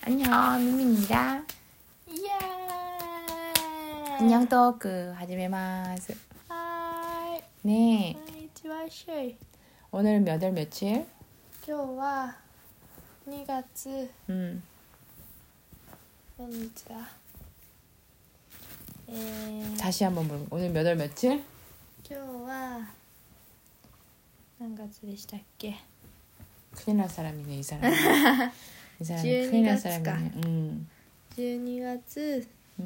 안녕, 미미입니다. 이야. 안녕 토크始めます. 하이. 네. 안녕하세요. 오늘은 몇 월 며칠? 今日は2月 何日だ? 다시 한번 물어봐. 오늘 몇 월 며칠? 今日は何月でしたっけ? 큰일 날 사람이네, 이 사람. 이 사람 큰일 날 사람이네. 12月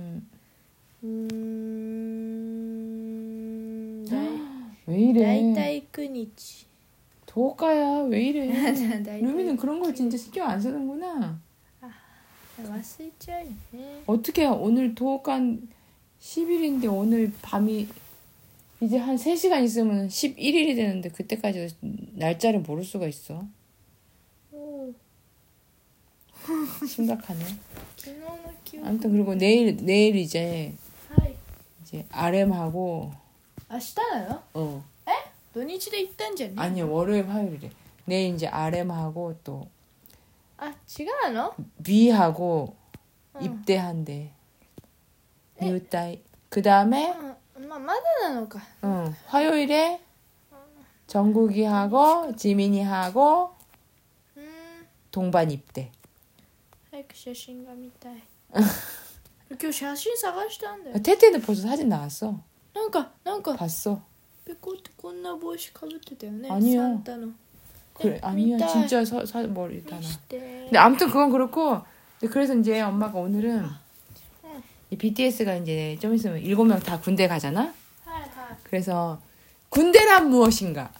왜 이래? だいたい9日 도가야, 왜 이래? だいたい 루미는 그런 걸 진짜 신경 안 쓰는구나. 忘れちゃうよね. 어떻게 오늘 도가 10일인데 오늘 밤이 이제 한 3시간 있으면 11일이 되는데 그때까지 날짜를 모를 수가 있어. 오. 심각하네. 昨日の記憶. 아무튼 그리고 내일 이제 하이. RM하고 明日なの? 土日で行ったんじゃね? 아니요, 월요일 화요일에 내일 이제 RM하고 또 違うの? B하고 입대한대. 뉴타이. 그 다음에 まだなのか. 화요일에 정국이하고 지민이하고 동반 입대. 早く写真が見たい. 今日写真探したんだよ. 태태는 벌써 사진 나왔어. なんか 봤어. ペコってこんな帽子かぶってたよね. 아니야. 산타の. 그래, 아니야. 미타. 진짜 머리 다 나. して. 근데 아무튼 그건 그렇고, 그래서 이제 엄마가 오늘은 이 BTS가 이제 좀 있으면 7명 다 군대 가잖아. 그래서 군대란 무엇인가?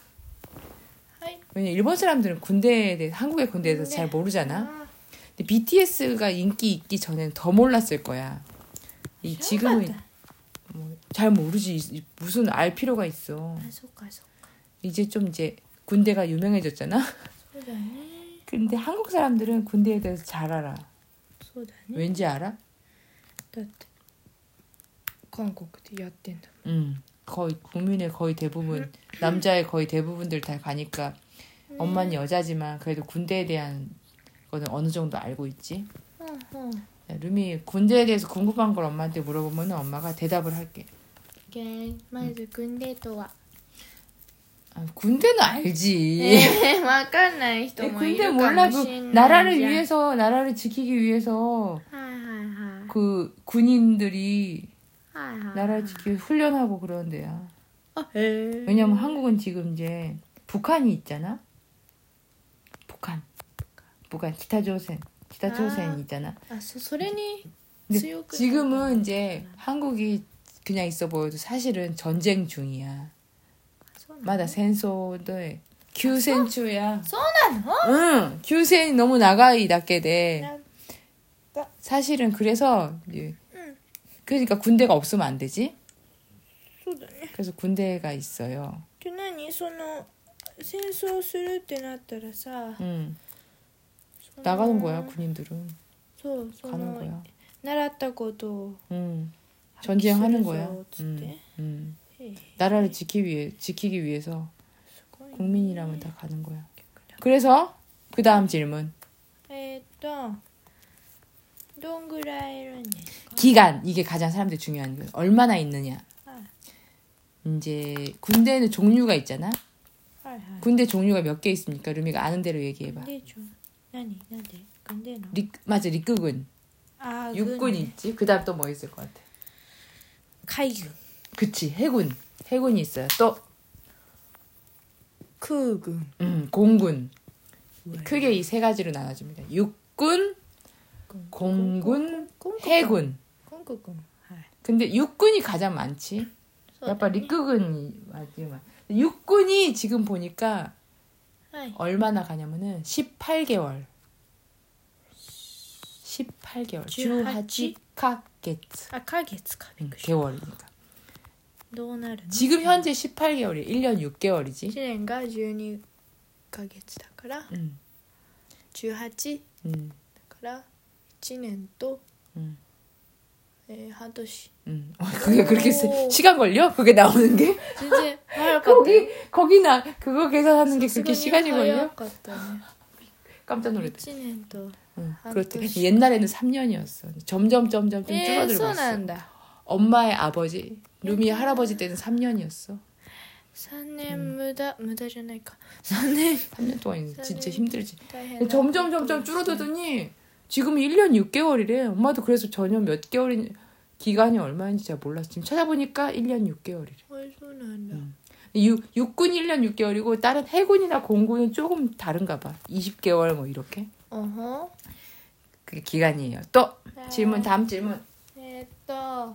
왜냐 일본 사람들은 군대에 대해 한국의 군대에 대해서 잘 모르잖아. 근데 BTS가 인기 있기 전에는 더 몰랐을 거야. 지금은 잘 모르지. 무슨 알 필요가 있어. 이제 좀 이제 군대가 유명해졌잖아. 근데 한국 사람들은 군대에 대해서 잘 알아. 왠지 알아? だって韓国でやってんだ. 거의 국민의 거의 대부분 남자의 거의 대부분들 다 가니까 엄마는 여자지만 그래도 군대에 대한 거는 어느 정도 알고 있지. 루미 군대에 대해서 궁금한 걸 엄마한테 물어보면 엄마가 대답을 할게. まず軍대とは. 군대는 알지. わかんない人もいるか 군대 も 몰라. し 그 んない. 나라를 위해서 나라를 지키기 위해서 그 군인들이 나라를 지키기 위해서 훈련하고 그런 데야. 왜냐면 한국은 지금 이제 북한이 있잖아. 북한 기타조선 있잖아. 근데 지금은 이제 한국이 그냥 있어 보여도 사실은 전쟁 중이야. 맞아,戦争で休戦中や. そうなの? 응,休戦이 너무 나가이 낫게 돼. 사실은 그래서 그러니까 군대가 없으면 안 되지. 그래서 군대가 있어요. って何その戦争するってなったらさ 나가는 거야 군인들은. そう 가는 거야. 習ったことを 전쟁하는 거야. つって 나라를 지키기 위해서 국민이라면 다 가는 거야. 그래서 그 다음 질문. どんぐらいいるんですか? 기간. 이게 가장 사람들이 중요한 거야. 얼마나 있느냐. 이제 군대는 종류가 있잖아. 군대 종류가 몇 개 있습니까? 루미가 아는 대로 얘기해봐. 맞아,陸軍. 육군이 있지. 그 다음 또 뭐 있을 것 같아? 海軍. 그치, 해군이 있어요. 또 空軍. 공군. 크게 이 세 가지로 나눠집니다. 육군, 공군, 해군. 근데 육군이 가장 많지. 약간陸軍이 맞지만 육군이 지금 보니까 얼마나 가냐면은 18개월. 18개월. 18개월이니까. 지금 현재 18개월이 1년 6개월이지. 1年が12ヶ月だから 18 だから 1年と 半年. 그게 그렇게 시간 걸려? 그게 나오는 게? 진짜 거기 그거 계산하는 게 그렇게 시간이 걸려? 깜짝 놀랐다. 1年と 그렇대. 옛날에는 3년이었어. 점점 좀 줄어들고 있어. そうなんだ 엄마의 아버지, 루미의 할아버지 때는 3년이었어. 3年無駄じゃないか3年 3년 동안 진짜 힘들지. 大変だ 점점 줄어들더니 지금 1년 6개월이래. 엄마도 그래서 전혀 몇 개월인 기간이 얼마인지 잘 몰랐어. 지금 찾아보니까 1년 6개월이래. そうなんだ 육군 1년 6개월이고 다른 해군이나 공군은 조금 다른가 봐. 20개월 뭐 이렇게. 어허 그게 기간이에요. 또 질문 다음 질문. えーっと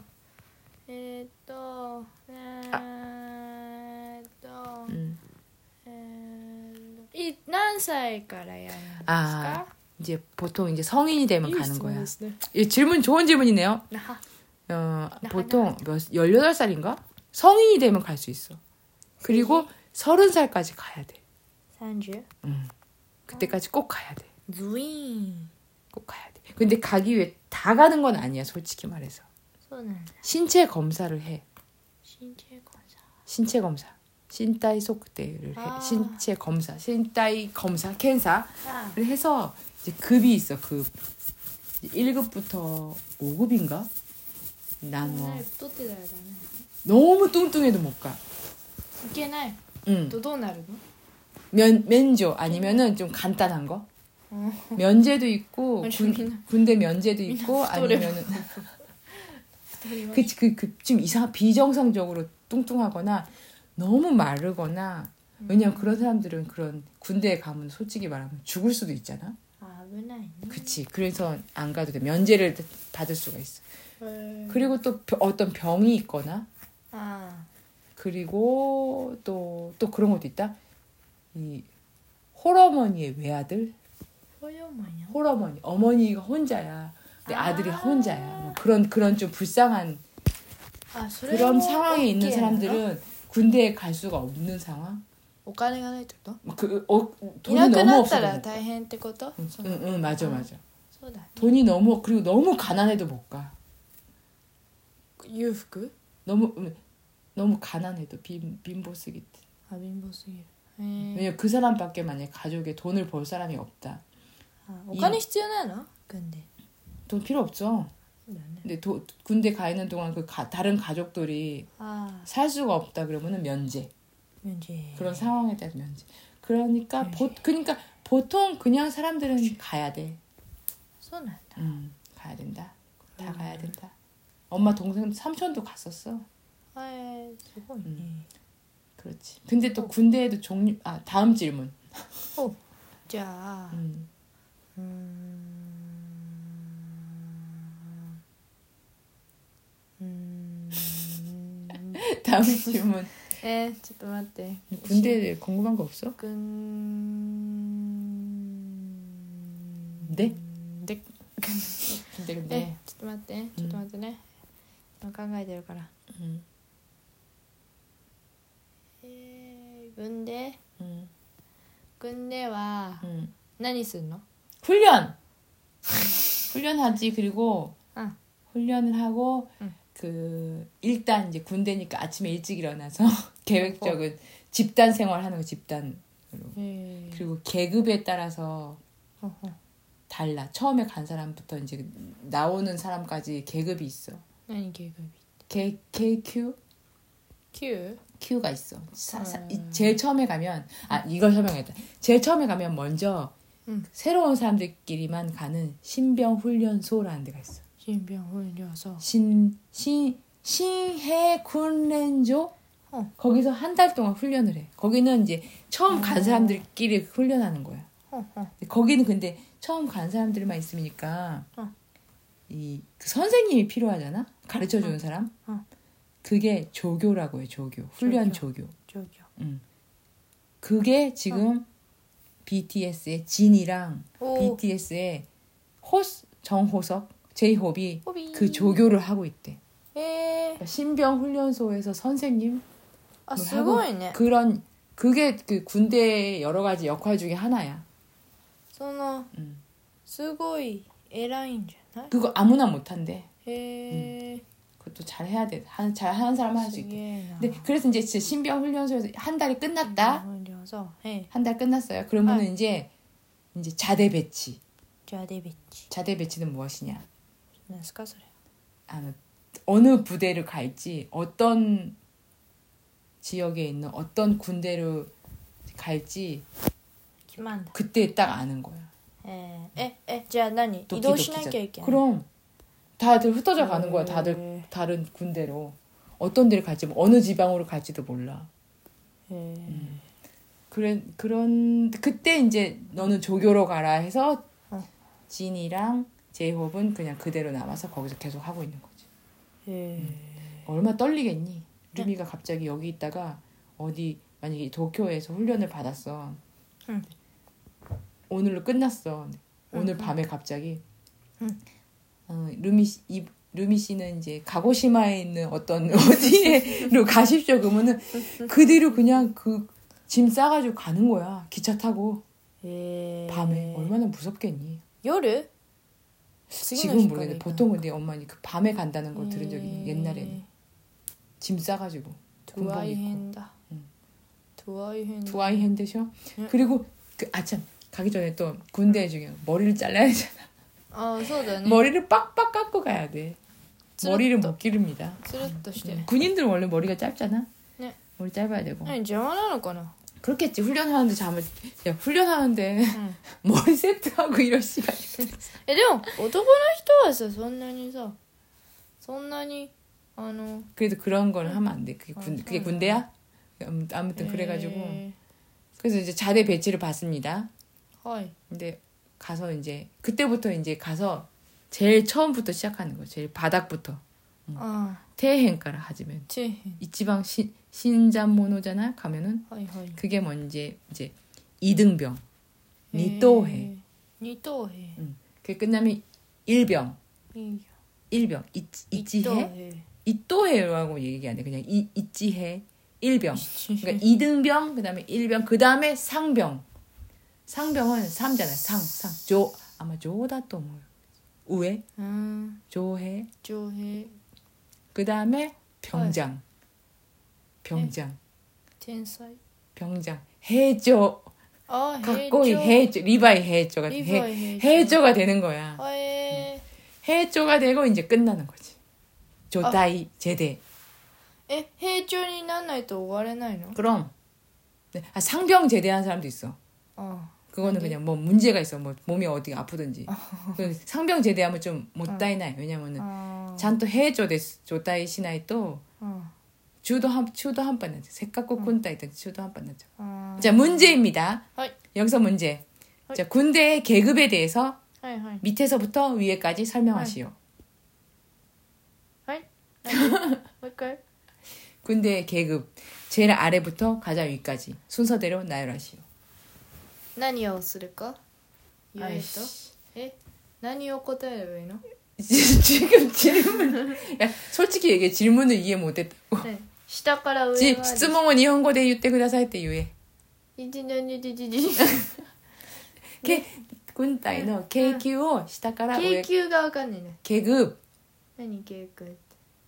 何歳からやるんですか 이제 보통 이제 성인이 되면 いい 가는 質問 거야. ですね 이 질문 좋은 질문이네요. 보통 18살인가? 성인이 되면 갈 수 있어. 그리고 30살까지 가야 돼. 30? 그때까지 꼭 가야 돼. ズイーン 꼭 가야 돼. 근데 가기 위해 다 가는 건 아니야, 솔직히 말해서. そうなんだ 신체 검사를 해. 身体検査 신체 검사. 신타이 속대를 해. 신체 검사. 신타이 검사,検査를 해서 이제 급이 있어, 급. 1급부터 5급인가? 난 뭐. 太ってたらダメ 너무 뚱뚱해도 못 가. いけない 응. とどうなるの 면조 아니면은 좀 간단한 거. 면제도 있고 군대 면제도 있고 아니면은 좀 비정상적으로 뚱뚱하거나 너무 마르거나 왜냐면 그런 사람들은 그런 군대에 가면 솔직히 말하면 죽을 수도 있잖아. 아, 危ないね 그치. 그래서 안 가도 돼. 면제를 받을 수가 있어. 그리고 또 어떤 병이 있거나 그리고 또 그런 것도 있다. 이 홀어머니의 외아들. 홀어머니. 어머니가 혼자야. 근데 아들이 혼자야. 뭐 그런 좀 불쌍한 그런 상황에 있는 사람들은 군대에 갈 수가 없는 상황. お金がないってこと 돈이 いなく 너무 なっ 없어. たら大変ってこと 응, 맞아. そうだね 돈이 너무 그리고 너무 가난해도 못 가. 裕福 너무 가난해도 빈보스기. あ貧乏すぎる 왜냐 그 사람밖에 만약 가족에 돈을 벌 사람이 없다. お金必要なの軍で 돈 필요 없어. そうだね 근데 군대 가 있는 동안 다른 가족들이 あ 살 수가 없다 그러면은 면제. 免税 그런 상황에 따라 면제. 그러니까 그러니까 보통 그냥 사람들은 가야 돼. そうなんだ 가야 된다. 다 가야 된다. 엄마 동생 삼촌도 갔었어. すごいね 그렇지. 근데 또 군대에도 다음 질문. じゃあ 다음 질문. ちょっと待って 군대에 궁금한 거 없어? 네? 근데 ちょっと待ってね今考えてるから軍では何すんの 훈련하지. 그리고 훈련을 하고 일단 이제 군대니까 아침에 일찍 일어나서 계획적인 집단 생활하는 거 집단으로. 그리고 계급에 따라서 달라. 처음에 간 사람부터 이제 나오는 사람까지 계급이 있어. 何계급이 KQ? Q? Q가 있어. 제일 처음에 가면 이걸 설명했다. 제일 처음에 가면 먼저 새로운 사람들끼리만 가는 신병훈련소라는 데가 있어. 신병훈련소. 신해훈련소? 거기서 한 달 동안 훈련을 해. 거기는 이제 처음 간 사람들끼리 훈련하는 거야. 거기는 근데 처음 간 사람들만 있으니까 그 선생님이 필요하잖아. 가르쳐주는 사람. 그게 조교라고 해. 조교. 훈련 조교. 그게 지금 BTS의 진이랑 BTS의 정호석, 제이홉이 그 조교를 하고 있대. 그러니까 신병훈련소에서 선생님. すごいね。 그게 그 군대의 여러 가지 역할 중에 하나야. すごい偉いんじゃない? 그거 아무나 못한대. 해. 그것도 잘 해야 돼. 잘 하는 사람은 할 수 있대. 근데 그래서 이제 신병 훈련소에서 한 달이 끝났다. 한 달 끝났어요. 그러면은 이제 이제 자대 배치. じゃあでべっち 자대 배치는 무엇이냐? なんですかそれ 어느 부대를 갈지, 어떤 지역에 있는 어떤 군대로 갈지 決まんだ 그때 딱 아는 거야. じゃあ何移動しなきゃいけない 그럼 다들 흩어져 가는 거야. 다들 다른 군대로. 어떤 데를 갈지, 뭐 어느 지방으로 갈지도 몰라. 그때 이제 너는 조교로 가라 해서 진이랑 제이홉은 그냥 그대로 남아서 거기서 계속 하고 있는 거지. 얼마나 떨리겠니? 루미가 갑자기 여기 있다가 어디 만약에 도쿄에서 훈련을 받았어. 오늘로 끝났어. 오늘 밤에 갑자기 루미 씨는 이제 가고시마에 있는 어떤 어디로 가십시오. 그러면은 그 뒤로 그냥 그 짐 싸가지고 가는 거야. 기차 타고. 밤에 얼마나 무섭겠니? 夜 지금은 모르겠는데 보통 근데 엄마니 그 밤에 간다는 거 들은 적이 있는 옛날에는 짐 싸가지고 군복 입고. 두아이 핸드셔. 그리고 그 아참 가기 전에 또 군대 중에 머리를 잘라야 되잖아. 머리를 빡빡 깎고 가야 돼. 머리를 못 기릅니다. 군인들은 원래 머리가 짧잖아. 네. 머리 짧아야 되고. 아니, 邪魔なのかな? 그렇겠지. 훈련하는데 훈련하는데 머리 세트하고 이럴 시간이. でも男の人はさそんなに 그래도 그런 걸 하면 안 돼. 그게 군대야? 아무튼 그래가지고 그래서 이제 자대 배치를 받습니다. 근데 가서 이제 그때부터 이제 가서 제일 처음부터 시작하는 거. 제일 바닥부터. 태행가라 하지면 이지방 신잔모노잖아. 가면은 그게 뭔지 이제 이등병, 니토해. 그게 끝나면 일병, 이치해, 이토해라고 얘기 안 해. 그냥 이치해, 일병. 그러니까 이등병, 그다음에 일병, 그다음에 상병. 상병은 3잖아. 아마 조다 또 뭐. 우에, 조해. 그다음에 병장. 병장. 해조. 가꼬이 해조. 리바이 해조가 해조가 되는 거야. 해조가 되고 이제 끝나는 거지. 조다이 제대. 해조にならないと終われないの? 그럼. 네. 상병 제대한 사람도 있어. 그거는 그냥 뭐 문제가 있어. 뭐 몸이 어디 아프든지. 상병 제대하면 좀 못다이나요. 왜냐면은 잔또 해조 데스 조다이 시나이 또 주도 한번 나죠. 색깔고 군다이든 주도 한번 나죠. 자, 문제입니다. 여기서 문제. 자, 군대의 계급에 대해서 밑에서부터 위에까지 설명하시오. 군대의 계급 제일 아래부터 가장 위까지 순서대로 나열하시오. 何をするか言えと何を答えればいいの? 지금 질문 솔직히 얘기해. 질문을 이해 못했다고. 네. 下から上まで質問を日本語で言ってくださいって言え。軍隊の階級を下から上。 階級がわかんないね。 계급。 何階級って。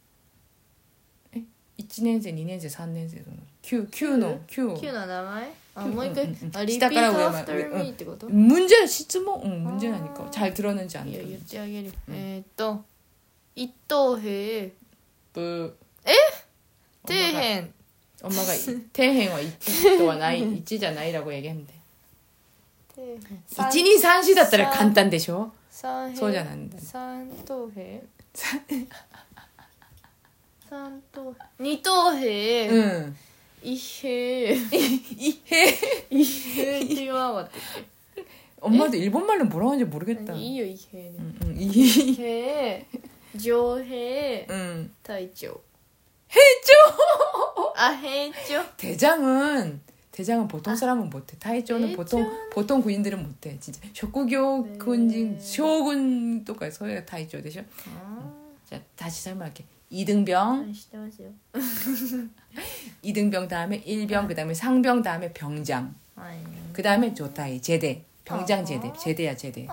1年生、2年生、3年生の9の名前？もう一回。リピートアフターミーってこと？ 문제質問。문제라니까. 잘 들었는지 안 들었는지. 言ってあげる。一等兵。底辺。 엄마가 태행와 이치와 나이 이치잖아이라고 얘기하면 돼. 1, 2, 3, 4 だったら簡単でしょ? そうじゃないんだ. 三等兵? 二等兵? 응. 이해. 이해가 어떻게? 엄마도 일본말로 뭐라고 하는지 모르겠다. 이요 이해. 이해. 조해. 응. 타이조. 해조. 해조. 대장은 보통 사람은 못해. 타이조는 보통 군인들은 못해. 진짜 쇼구교 군인 쇼군とか 소리가 타이조 되죠. 자, 다시 설명할게. 2등병. 2등병 다음에 1병, 그다음에 상병 다음에 병장. 그다음에 조타이 제대. 병장 제대야 제대.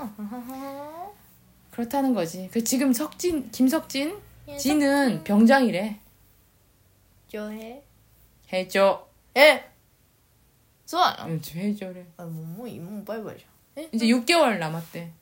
그렇다는 거지. 그 지금 김석진 지는 병장이래. 조해. 해줘. 에. そうなの? 해줘래. もうバイバイじゃん。 이제 6개월 남았대.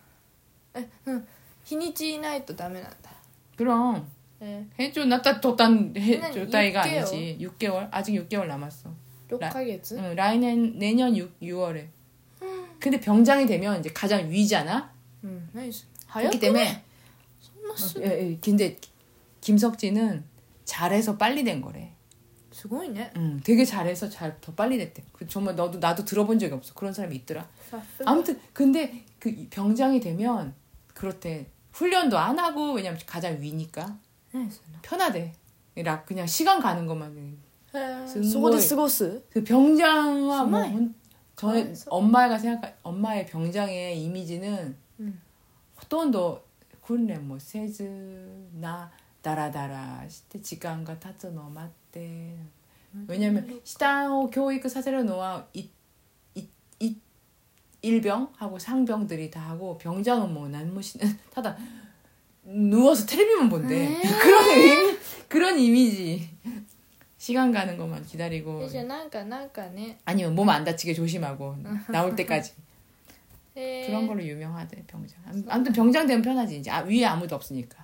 日にちいないとダメなんだ 그럼 네. 해줘 놨다 뒀단 그냥 줬다이가 6개월. 아니지. 6개월 아직 6개월 남았어. 6ヶ月? 응, 내년 6월에. 근데 병장이 되면 이제 가장 위잖아. 나이스. 그렇기 때문에 근데 김석진은 잘해서 빨리 된 거래. すごいね. 되게 잘해서 더 빨리 됐대. 정말 나도 들어본 적이 없어. 그런 사람이 있더라. 사스가. 아무튼 근데 그 병장이 되면 그렇대. 훈련도 안 하고 왜냐면 가장 위니까 편하대. 그냥 시간 가는 것만. そこで過ごす? 그 병장과 뭐 정말? 엄마의 병장의 이미지는 ほとんど訓練もせずなダラダラして時間が経つのを待って 왜냐면 시단을 교육させるのは 일병하고 상병들이 다 하고 병장은 뭐 난무시는 타다 누워서 텔레비만 본대. 그런 이미지. 시간 가는 것만 기다리고. 이제 난가ね. 아니면 몸 안 다치게 조심하고 나올 때까지. 그런 걸로 유명하대 병장. 아무튼 병장 되면 편하지 이제 위에 아무도 없으니까.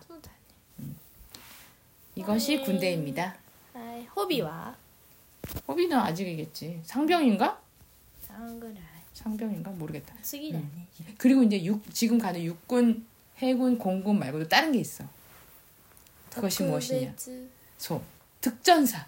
이것이 군대입니다. 호비와? 호비는 아직이겠지. 상병인가? 상그라이. 상병인가 모르겠다. 쓰기라네. 그리고 이제 지금 가는 육군, 해군, 공군 말고도 다른 게 있어. 그것이 무엇이냐? 특전사.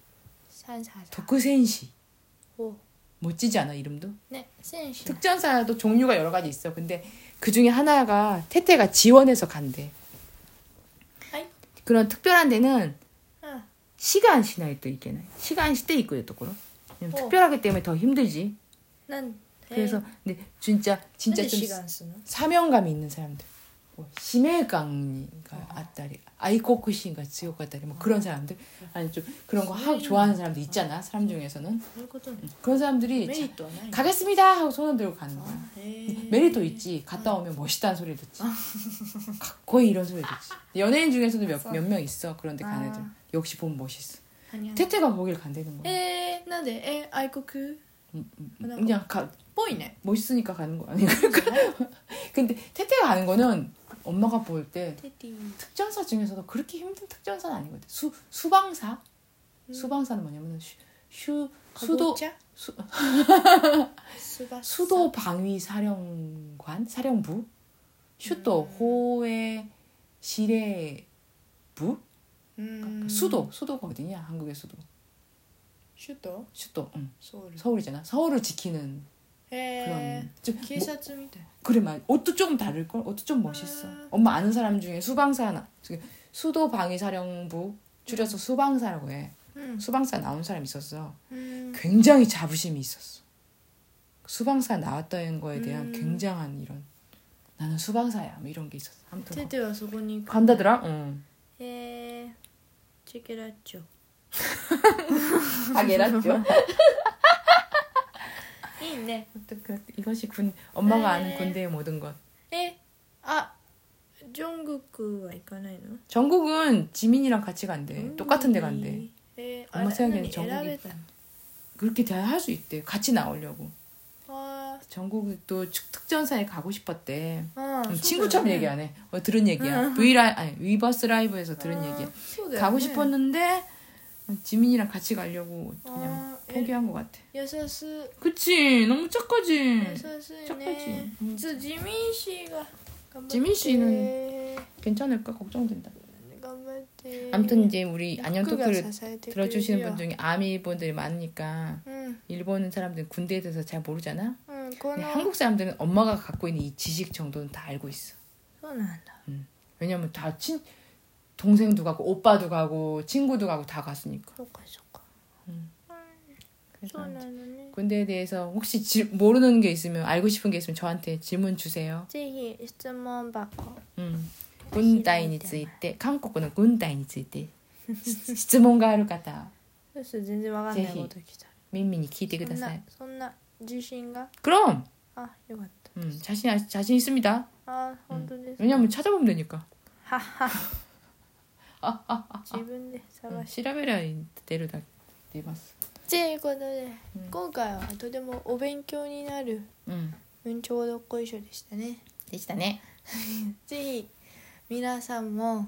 도쿠센시. 멋지지 않아 이름도? 네, 센시. 특전사도 종류가 여러 가지 있어. 근데 그 중에 하나가 태태가 지원해서 간대. 아이. 그런 특별한 데는 시간 시나이 또 있겠네. 시간 시대 있고요, 또 그럼. 특별하기 때문에 더 힘들지. 그래서 근데 진짜 좀 사명감이 있는 사람들. 뭐使命感が あったり 愛国心が 強かったり 뭐 그런 사람들 아니 좀 그런 거 좋아하는 사람들 있잖아 사람 중에서는 그런 사람들이 가겠습니다 하고 손을 들고 가는 거야. 메리트 있지. 갔다 오면 멋있다는 소리 듣지. 거의 이런 소리 듣지. 연예인 중에서도 몇 명 있어. 그런데 간 애들 역시 보면 멋있어. 태태가 거길 간다는 거야. 나데愛国 그냥 보이네. 멋있으니까 가는 거 아닌가? 근데 태태가 가는 거는 엄마가 볼 때 특전사 중에서도 그렇게 힘든 특전사는 아니거든. 수방사? 수방사는 뭐냐면 수도 방위 사령부, 슈도 호외 시례부, 수도가 어디냐? 한국의 수도. 슈도, 응. 서울이잖아. 서울을 지키는 그런 좀 그래 말 옷도 조금 다를걸. 옷도 좀 멋있어. 엄마 아는 사람 중에 수방사 수도 방위사령부 줄여서 수방사라고 해. 수방사 나온 사람 있었어. 굉장히 자부심이 있었어. 수방사 나왔다는 거에 대한 굉장한 이런 나는 수방사야 뭐 이런 게 있었어. 아무튼 태태가 소고니 간다더라. 응. 체크라죠. 아게라죠. 네. 이것이 엄마가 아는 군대의 모든 것. 정국은 가나요? 정국은 지민이랑 같이 간대. 똑같은 데 간대. 엄마 생각에는 정국이 그렇게 할 수 있대. 같이 나오려고. 정국이 또 특전사에 가고 싶었대. 친구처럼 얘기 안 해. 들은 얘기야. 위버스 라이브에서 들은 얘기야. 가고 싶었는데 지민이랑 같이 가려고 그냥 포기한 것 같아. 그치. 너무 착하지. 착하지. 지민 씨는 괜찮을까? 걱정된다. 아무튼 이제 우리 안녕 토크를 들어주시는 분 중에 아미 분들이 많으니까 일본 사람들은 군대에 대해서 잘 모르잖아. 근데 한국 사람들은 엄마가 갖고 있는 이 지식 정도는 다 알고 있어. 왜냐면 다 동생도 가고 오빠도 가고 친구도 가고 다 갔으니까. 그래서 군대에 대해서 혹시 모르는 게 있으면 알고 싶은 게 있으면 저한테 질문 주세요. ぜひ質問箱軍隊について韓国の軍隊について質問がある方全然わかんないこと来た耳に聞いてください。 そんな自信が 그럼 よかった 자신 있습니다. 本当です 왜냐면 찾아보면 되니까. 自分で探し調べりゃ出るだけ出ます。 ということで、今回はとてもお勉強になるちょうどっこいしょでしたね。 でしたね。 ぜひ皆さんも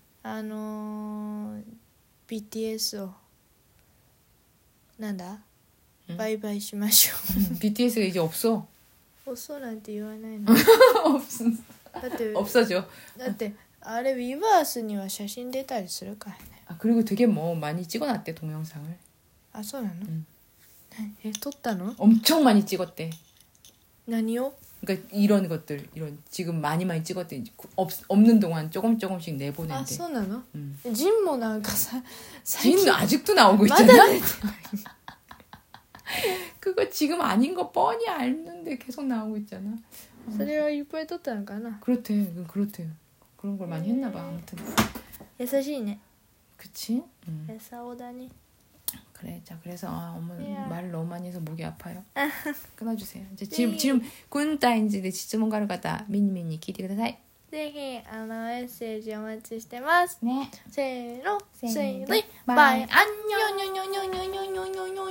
BTS をなんだ、バイバイしましょう。 BTS가 이제 없어. 없어なんて言わないの。だって 없어져. だってあれウィバースには写真出たりするからね。 아, 그리고 되게 뭐 많이 찍어놨대 동영상을. あ、そうなの？撮ったの？ 엄청 많이 찍었대. 何を？ 그러니까 이런 것들 이런 지금 많이 찍었대. 없는 동안 조금씩 내보낸대. あ、そうなの？ 응. ジンもなんかさ、 진도 아직도 나오고 있잖아. まだ出て 그거 지금 아닌 거 뻔히 알는데 계속 나오고 있잖아. それはいっぱい撮ったのかな。 그렇대. 그런 걸 많이 했나 봐. 아무튼. 優しいね。 그치? 응. 優しだね。 그래. 자, 그래서 엄마 야. 말을 너무 많이 해서 목이 아파요. 끊어주세요. 이제 지금 군타인지 질문 가루 가다 미니미니 기대ください. ぜひメッセージお待ちしてます。 네. せーの、せーの、 バイ。 バイ。 안녕.